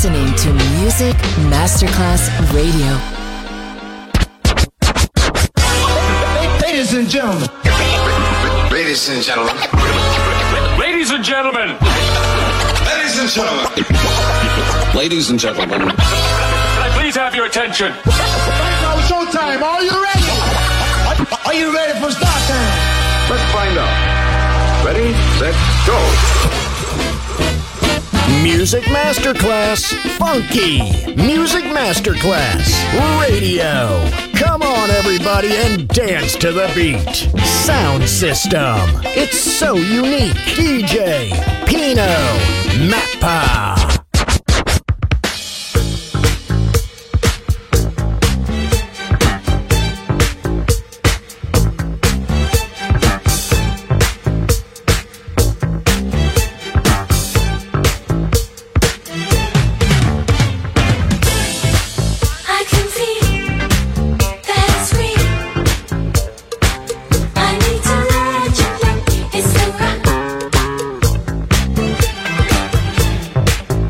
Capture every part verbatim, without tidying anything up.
listening to Music Masterclass Radio. Ladies and gentlemen. Ladies and gentlemen. Ladies and gentlemen. Ladies and gentlemen. Ladies and gentlemen. Can I please have your attention? Now showtime. Are you ready? Are you ready for start time? Let's find out. Ready, set, go. Music Masterclass Funky. Music Masterclass Radio. Come on, everybody, and dance to the beat. Sound system. It's so unique. D J Pino Mappa. It's the rock.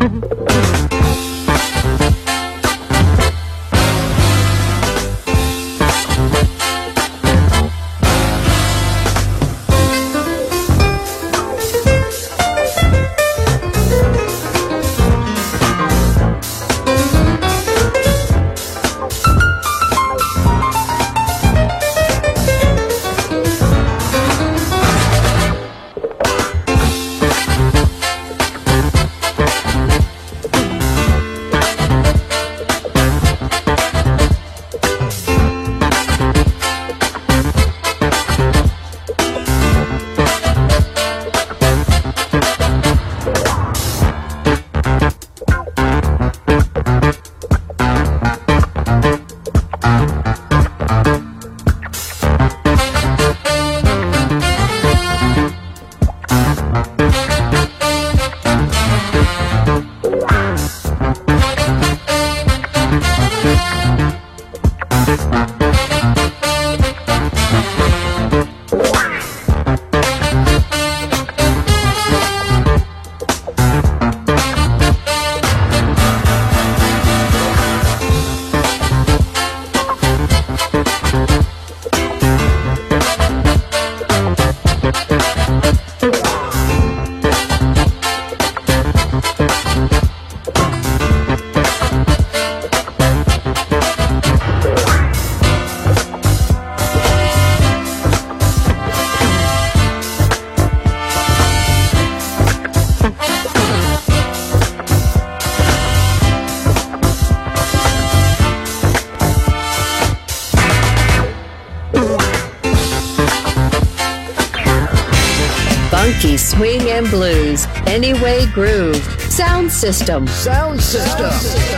Funky swing and blues, Anyway Groove, Sound System. Sound System.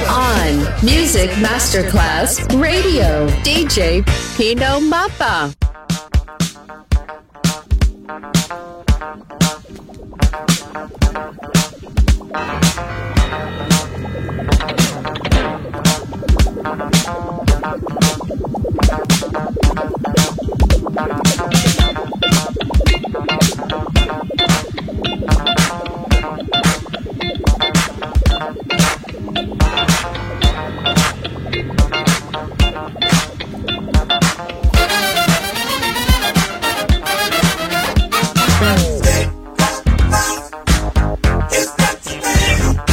On Music Masterclass Radio, D J Pino Mappa. It's got to be.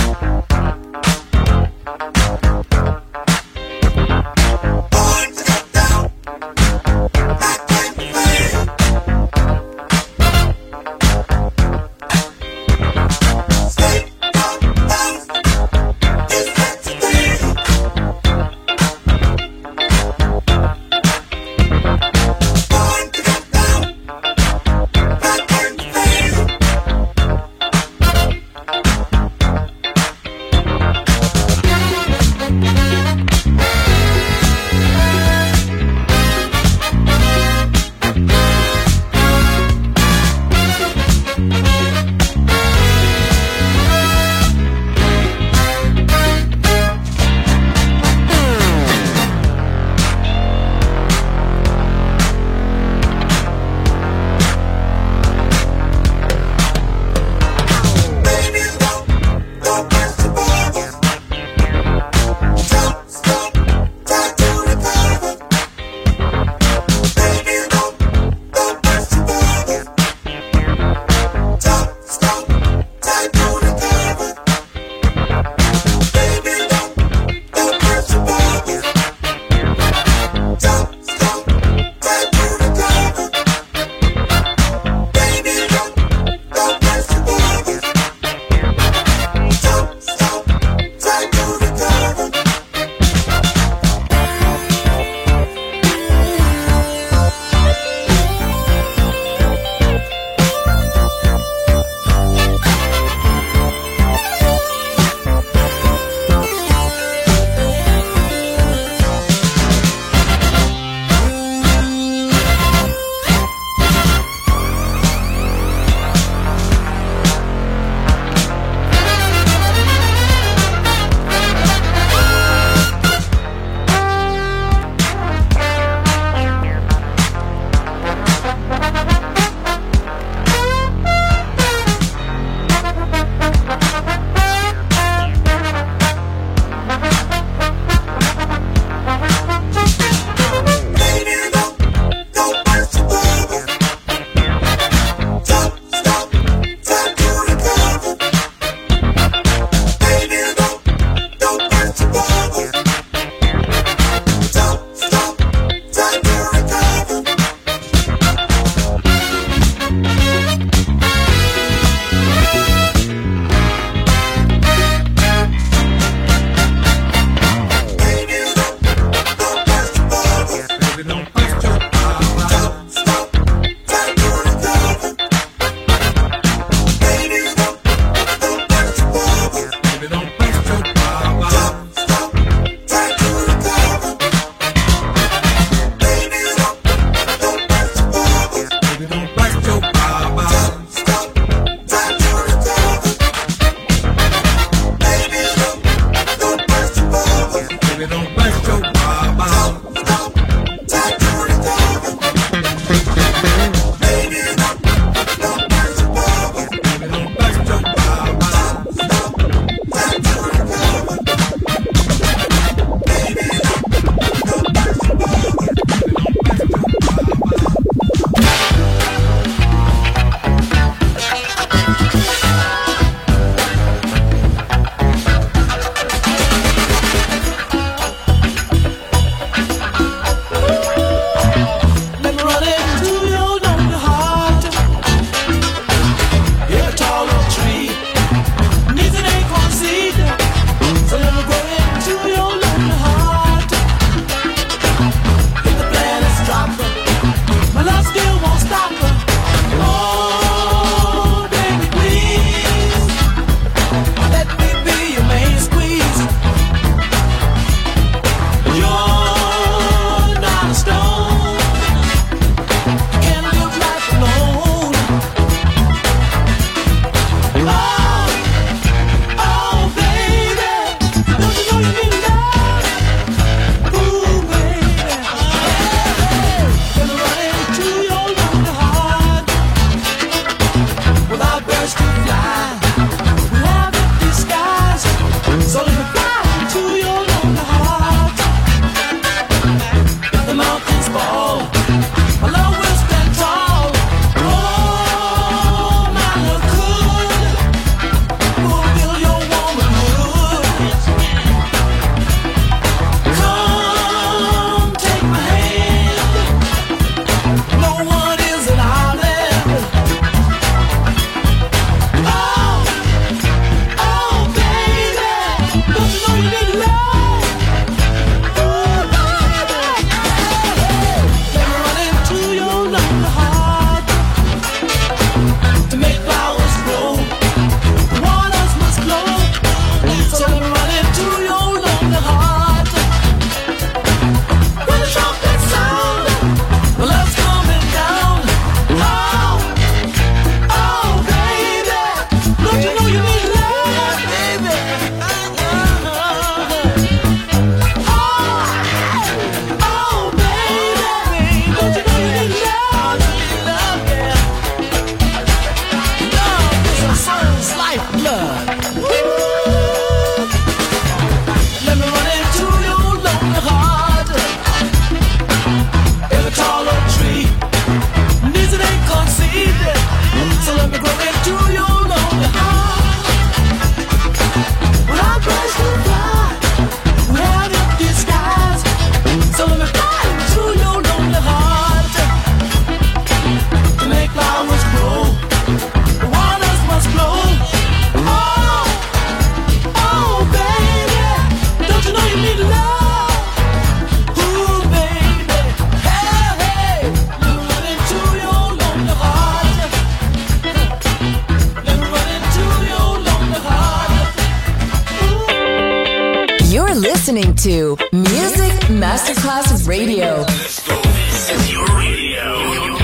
listening to Music Masterclass Radio. Let's go. This is your radio.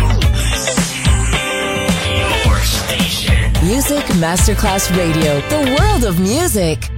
Your station. Music Masterclass Radio. The world of music.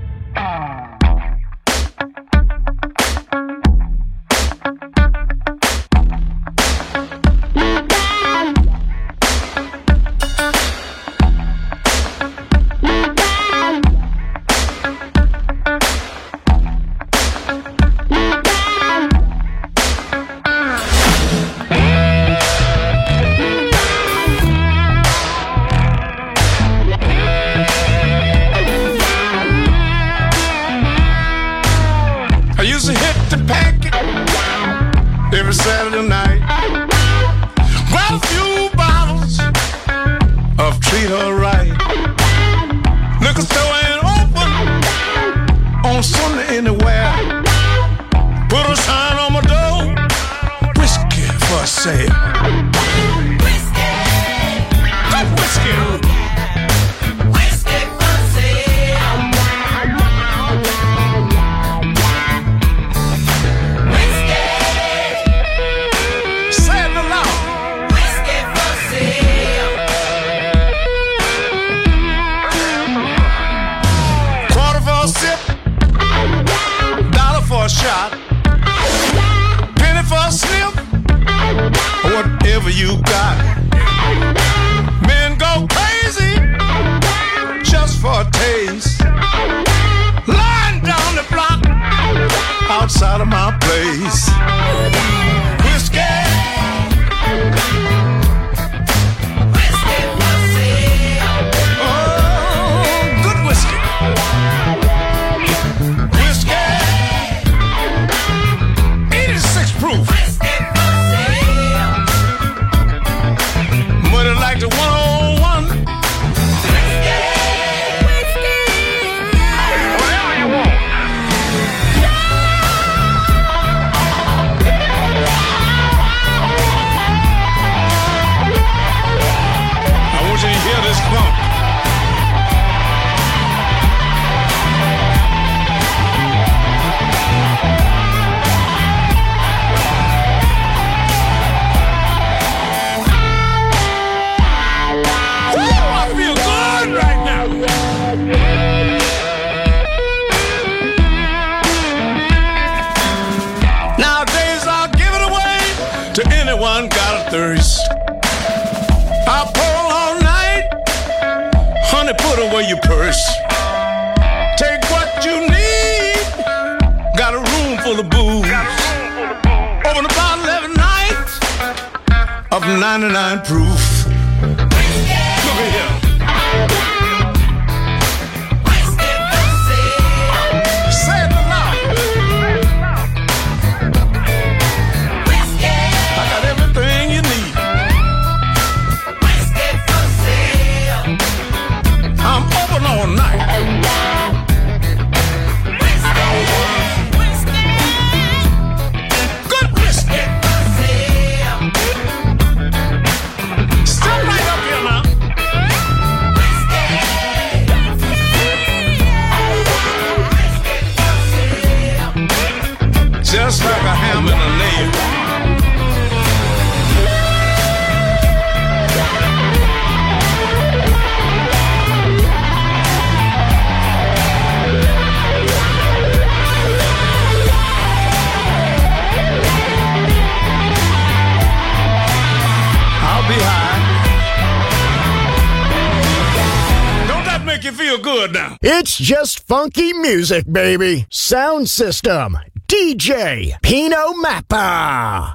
It's just funky music, baby. Sound system. D J Pino Mappa.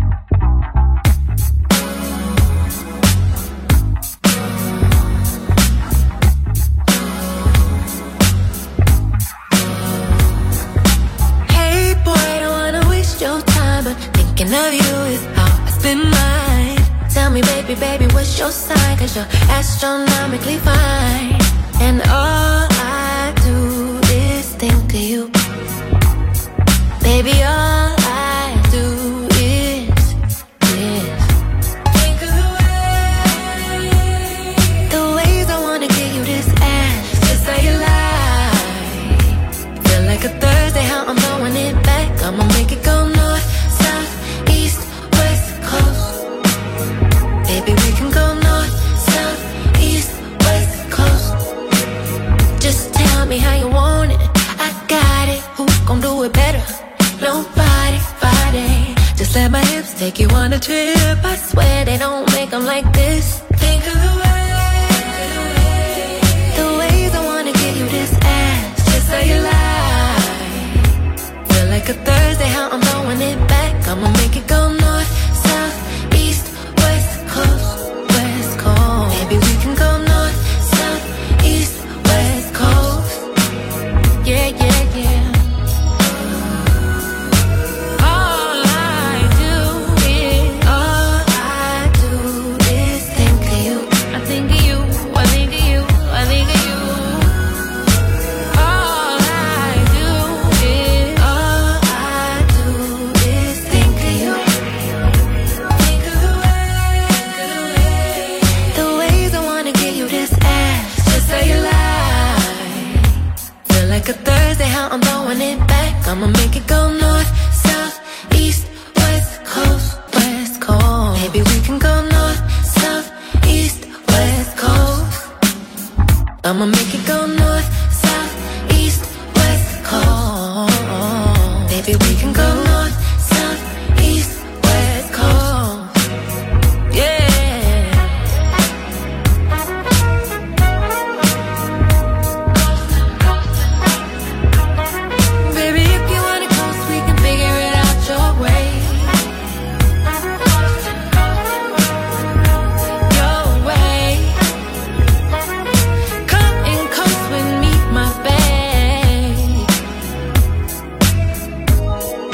Hey boy, I don't wanna waste your time, but thinking of you is how I spend mine. Tell me, baby, baby, what's your sign? 'Cause you're astronomically fine. And all I do is think of you. Baby, all I do is, is think of the way, the ways I wanna give you this ass. Just say you lie. Feel like a Thursday, how me how you want it. I got it. Who gon' do it better? Nobody, body. Just let my hips take you on a trip. I swear they don't make them like this. Think of the way, the ways I wanna give you this ass. Just so you lie. Feel like a Thursday, how I'm throwing it back. I'ma make it go north, south, east, west, coast, west coast. Maybe we can go north, south, east, west coast. Yeah, yeah, yeah. All I do is, all I do is think of you. I think of you, I think of you, I think of you. All I do is, all I do is think of you. Think of the way, the ways I wanna give you this ass. Just so you lie. Feel like a Thursday, how I'm throwing it back. I'ma make it go north, south, east, west coast, west coast. Maybe we can go north, south, east, west coast. I'ma make it go north, south, east, west coast. Maybe we can go north, south, east, west coast. Yeah. Baby, if you wanna coast, we can figure it out your way. Your way. Come and coast with me, my babe.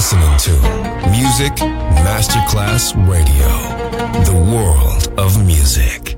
listening to Music Masterclass Radio, the world of music.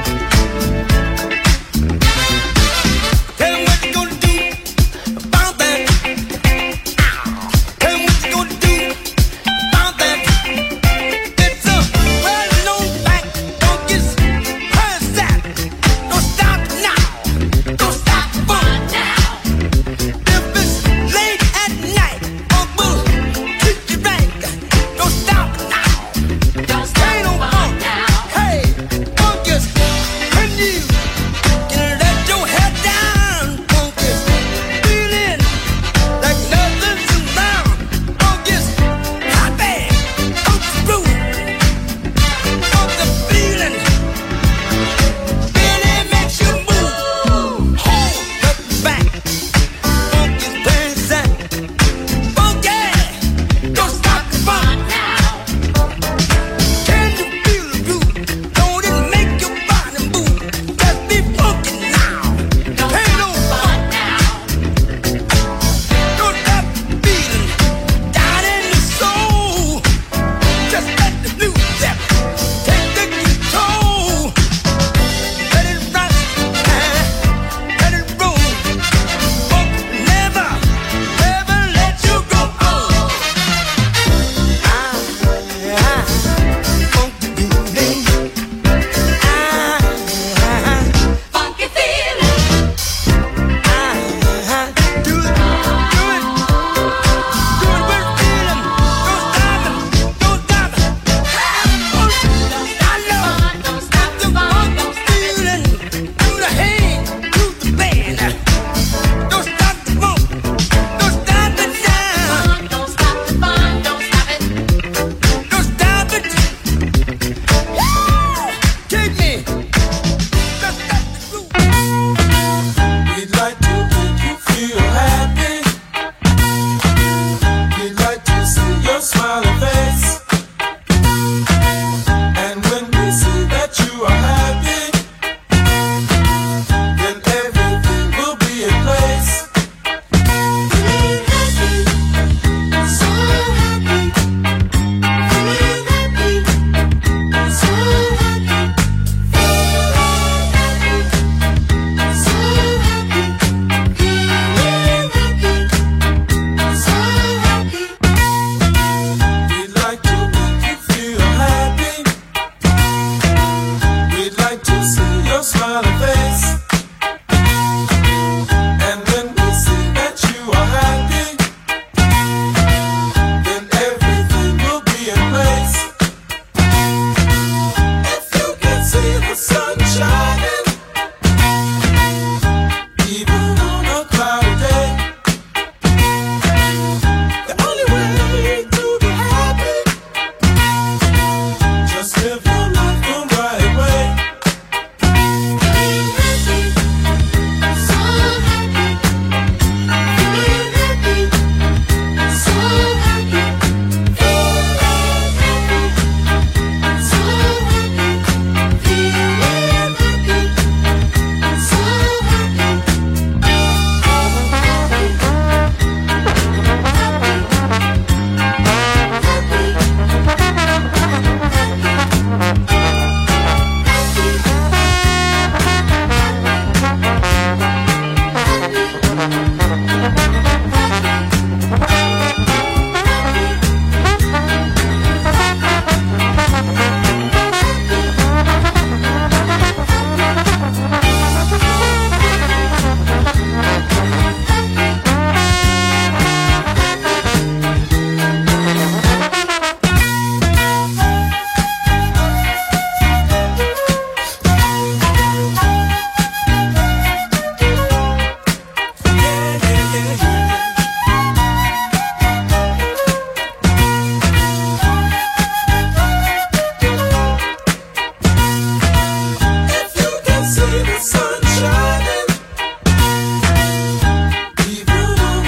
Tell 'em what you gonna do about that.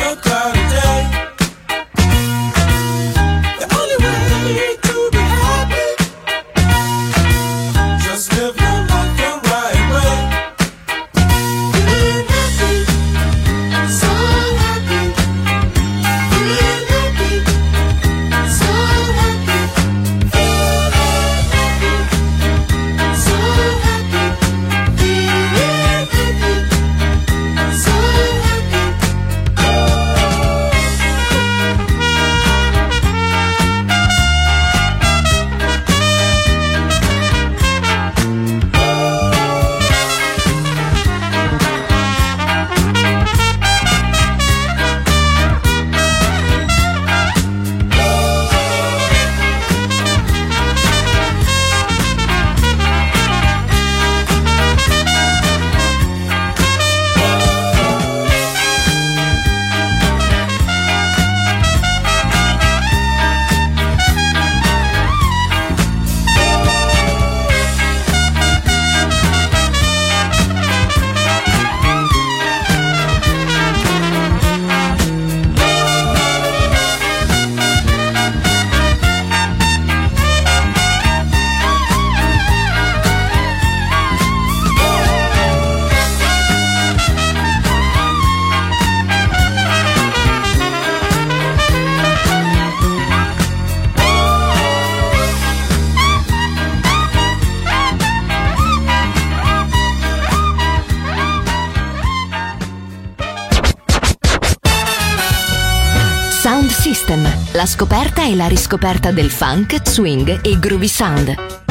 Sound System, la scoperta e la riscoperta del funk, swing e groovy sound.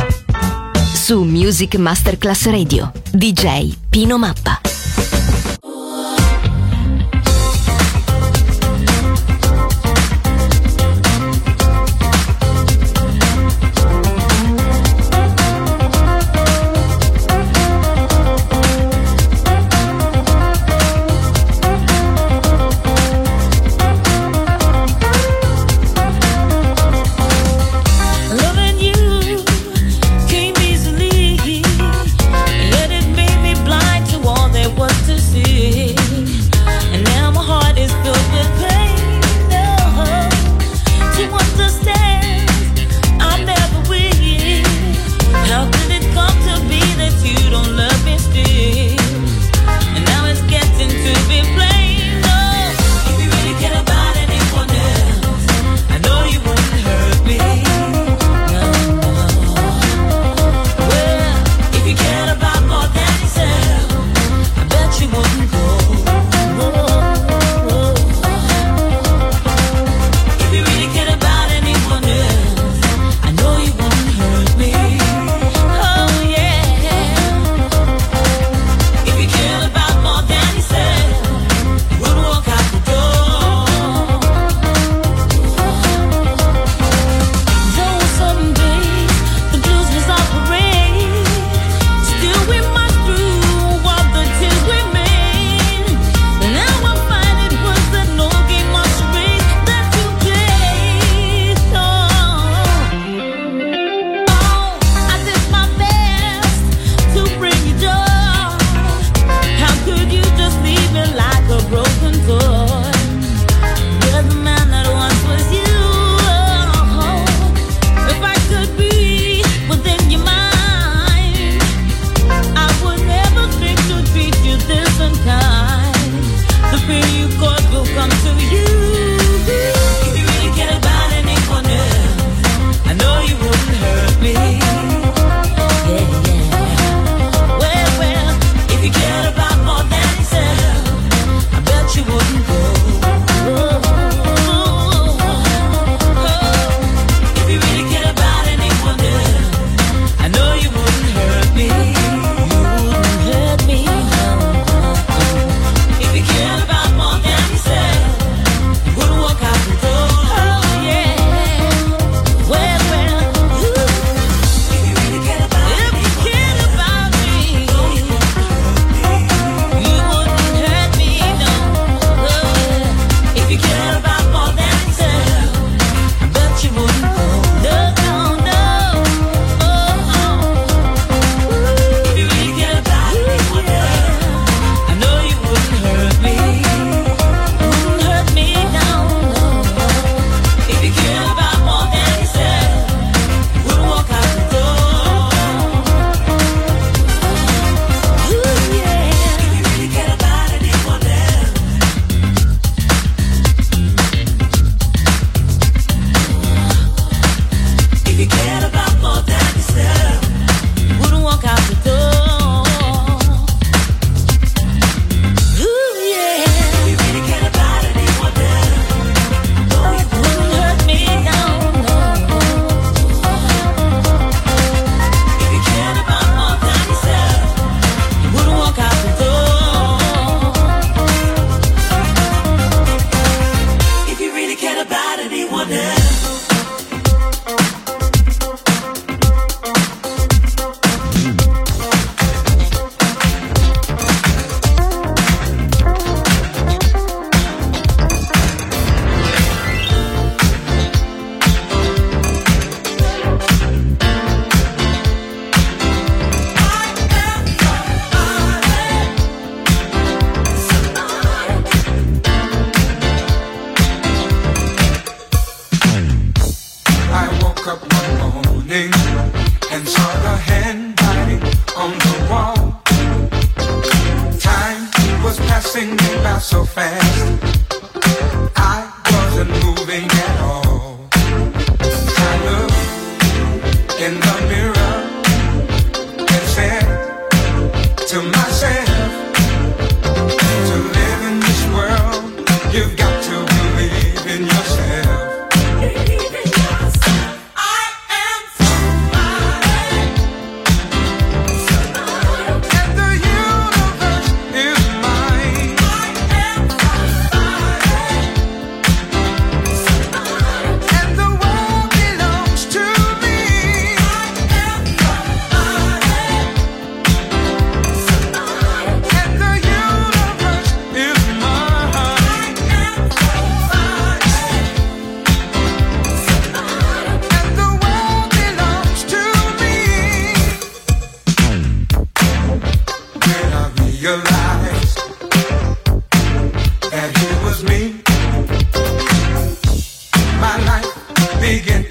Su Music Masterclass Radio, D J Pino Mappa. All their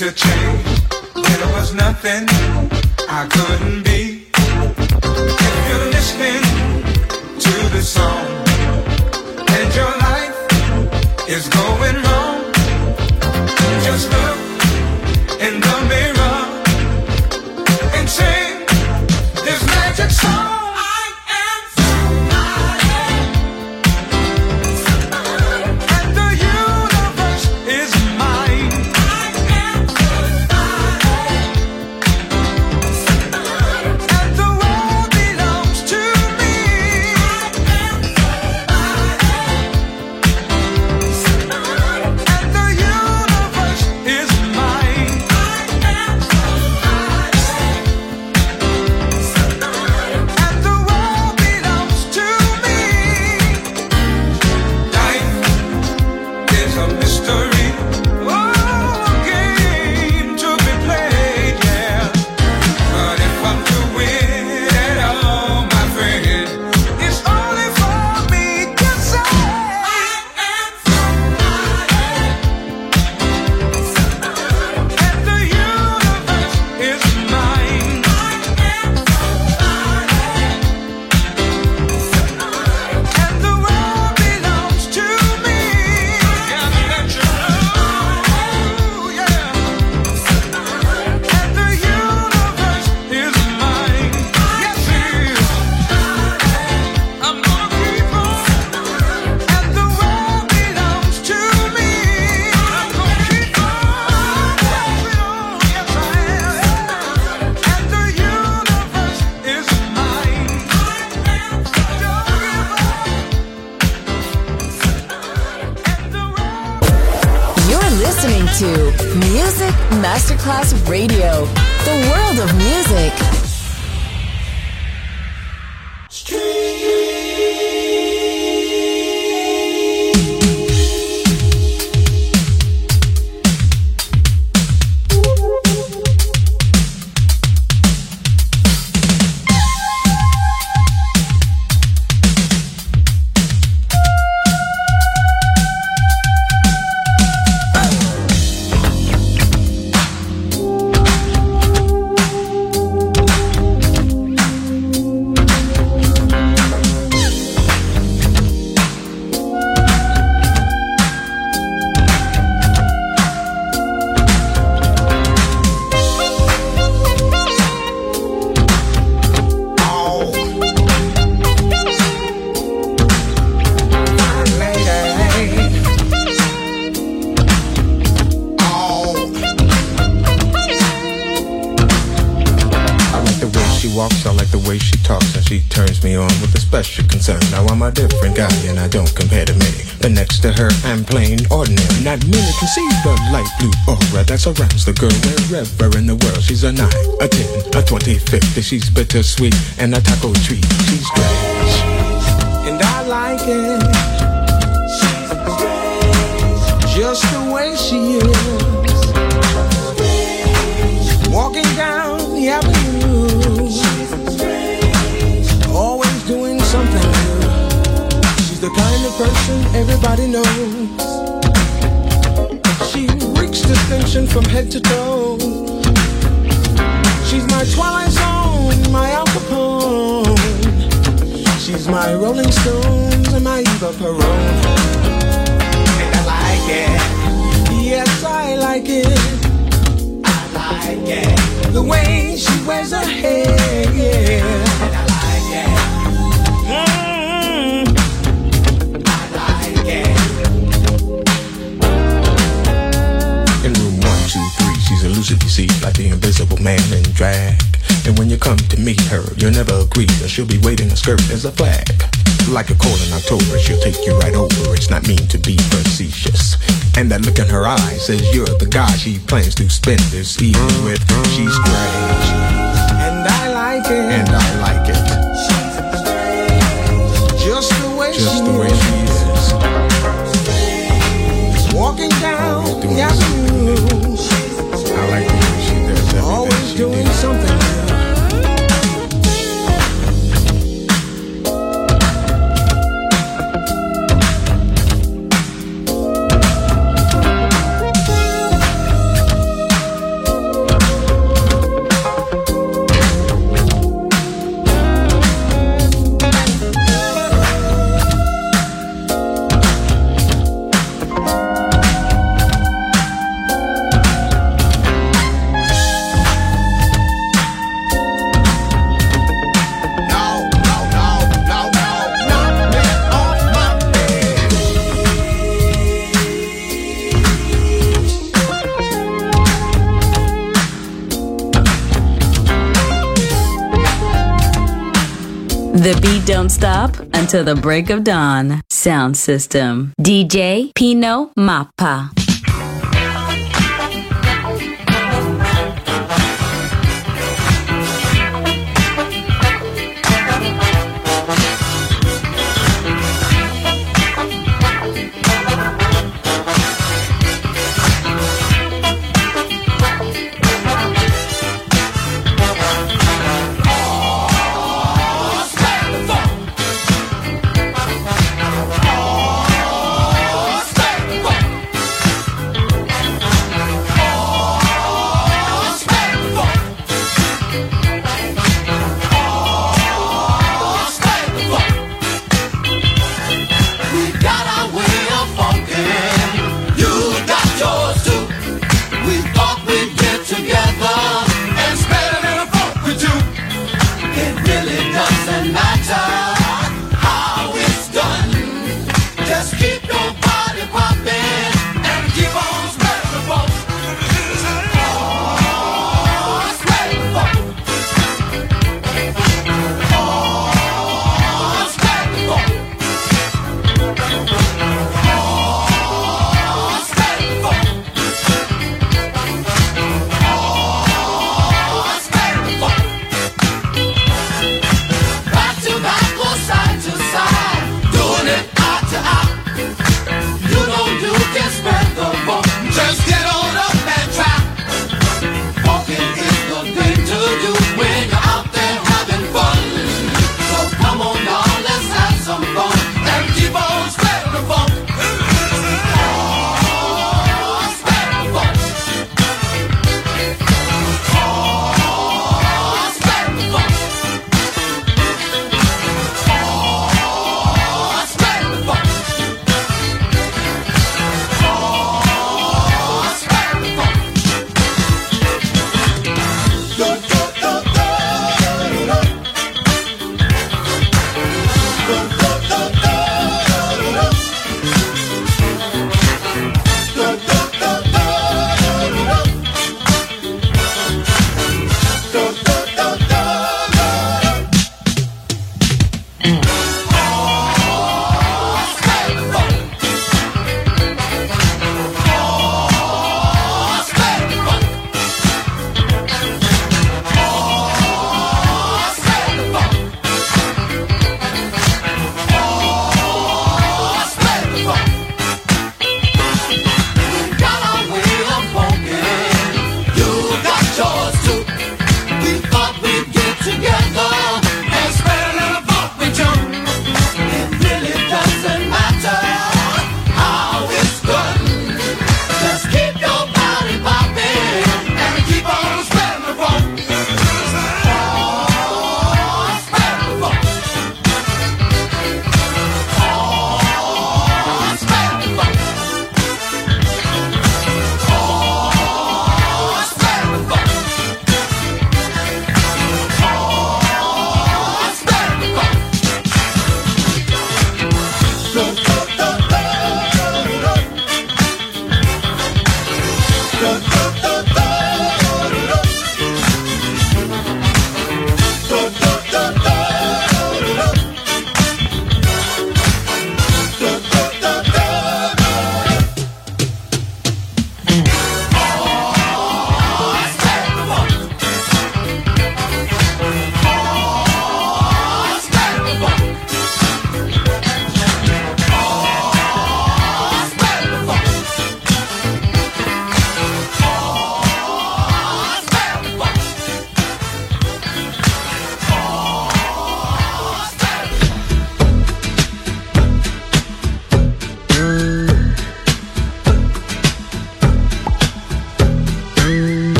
to change. There was nothing I couldn't be. If you're listening to the song and your life is going wrong, just look in the mirror and sing this magic song. Music Masterclass Radio, the world of music. Now I'm a different guy and I don't compare to me. But next to her I'm plain ordinary. Not many can see the light blue aura that surrounds the girl wherever in the world. She's a nine, a ten, a twenty, fifty. She's bittersweet and a taco treat. She's strange and I like it. She's strange, just the way she is. Walking down the avenue, always doing something new. She's the kind of person everybody knows. She reeks distinction from head to toe. She's my Twilight Zone, my Al Capone. She's my Rolling Stones and my Eva Peron. And I like it. Yes, I like it. I like it. The way she wears her hair, yeah. And I like it. Mm-hmm. I like it. In room one, two, three, she's elusive, you see, like the invisible man in drag. And when you come to meet her, you'll never agree that she'll be waving her skirt as a flag. Like a cold in October, she'll take you right over. It's not mean to be facetious. And that look in her eyes says you're the guy she plans to spend this evening with. She's strange, and I like it. And I like it. Just the way Just she the way is. She is. Walking down the avenue. I like the way she does everything. Always she doing did. Something new. The beat don't stop until the break of dawn. Sound system. D J Pino Mappa.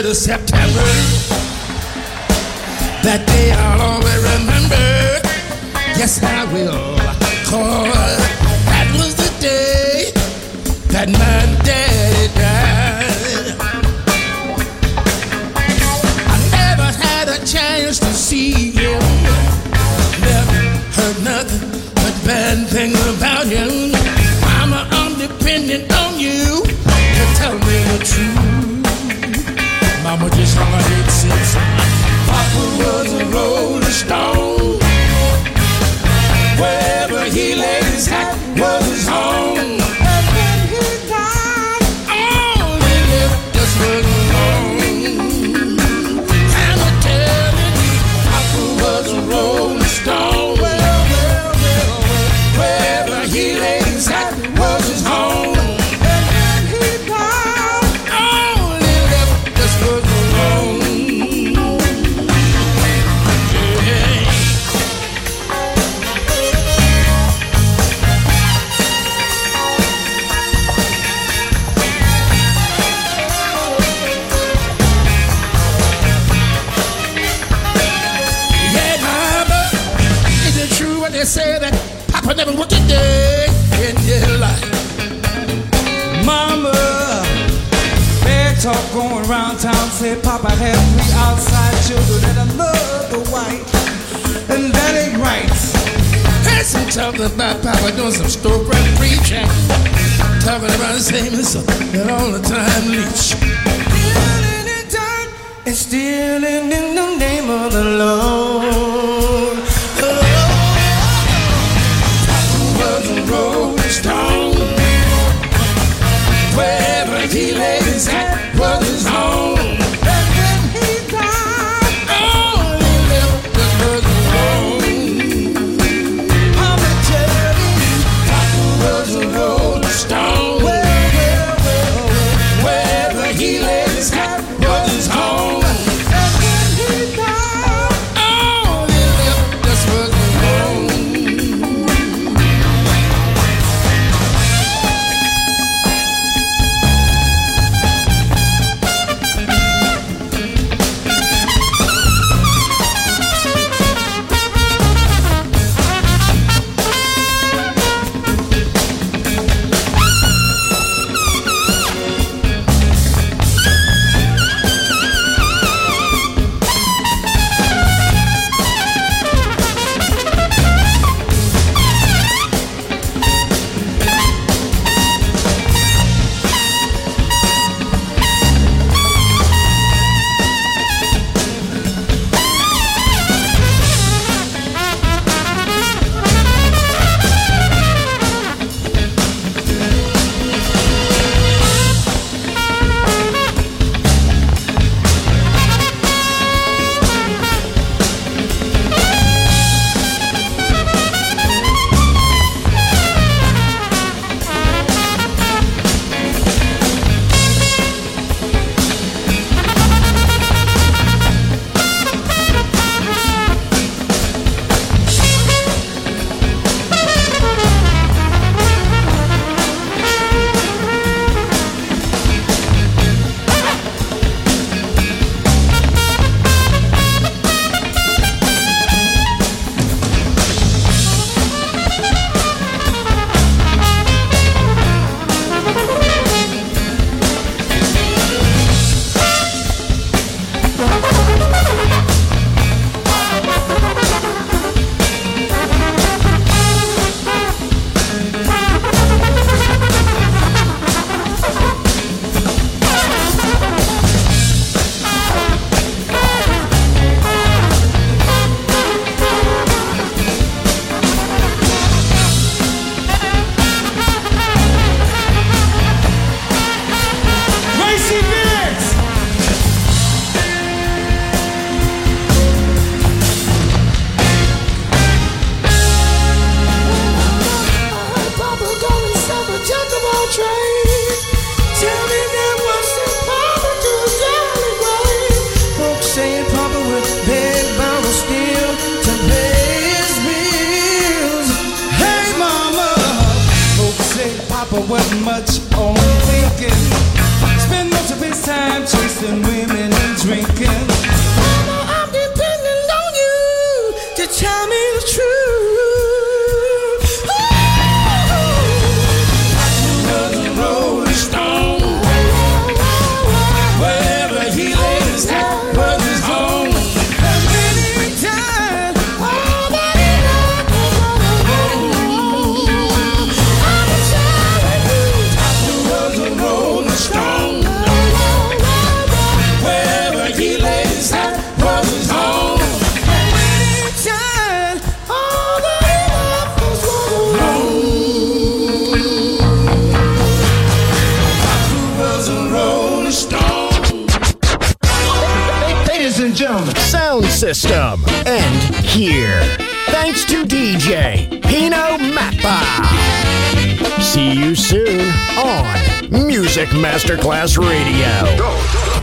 of September. That day I'll always remember. Yes, I will. Cause that was the day that my daddy died. I never had a chance to see him. Never heard nothing but bad things about him. Mama, I'm dependent on you to tell me the truth. Mama just hung her head since Papa was a rolling stone. Wherever he laid his hat was his home. And when he died, all he left us was alone. And I'm telling you, Papa was a rolling stone. Well, well, well, well. Wherever he laid his hat was his home. And when he died, all he left us was alone. They say that Papa never worked a day in his life. Mama, bad talk going around town. Say Papa had three outside children and another wife, and that ain't right. Had some talking about Papa doing some storefront preaching, talking about the same as and all the time leech. Stealing in dirt and stealing in the name of the Lord. Was a rolling stone. Wherever he laid his hat was his home. And when he died, all he left us was alone. I'm telling you, Papa was a rolling stone. Well, well, well, well. Wherever he laid his hat was his home. And when he died, all he left us was alone. Papa wasn't much on thinking. Spend most of his time chasing women. drinking. Mama, I'm depending on you to tell me the truth. Ooh, was a Rolling Stone. Wherever he laid his hat was his home. And many times, all that he loved was I'm a child of you. Was a Rolling Stone. Wherever he laid his hat was his home. And many times, all that he loved was was a Rolling Stone. Ladies and gentlemen, Sound System. And here, thanks to D J Pino Mappa. See you soon on Music Masterclass Radio.